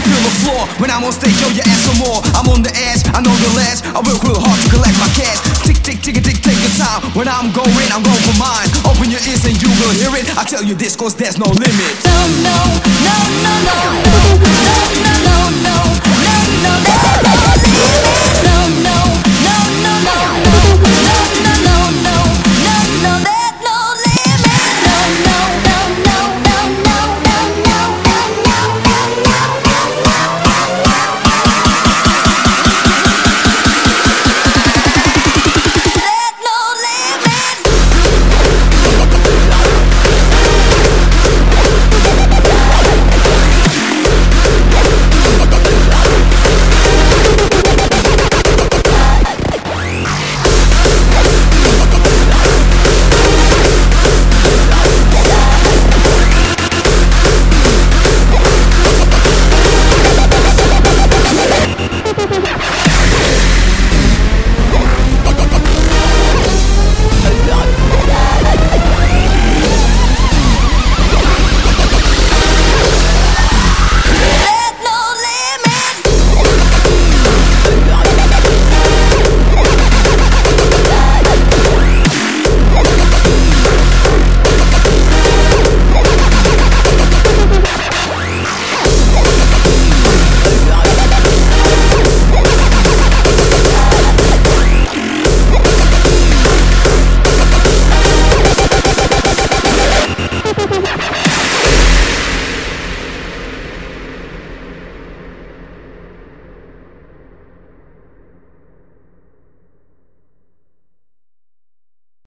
feel the floor when I'm on stage, yo, you ask for more. I'm on the edge, I know the ledge. I work real hard to collect my cash. Tick, tick, tick, tick, take your time. When I'm going for mine. Open your ears and you will hear it. I tell you this cause there's no limit. No, no, no, no, no.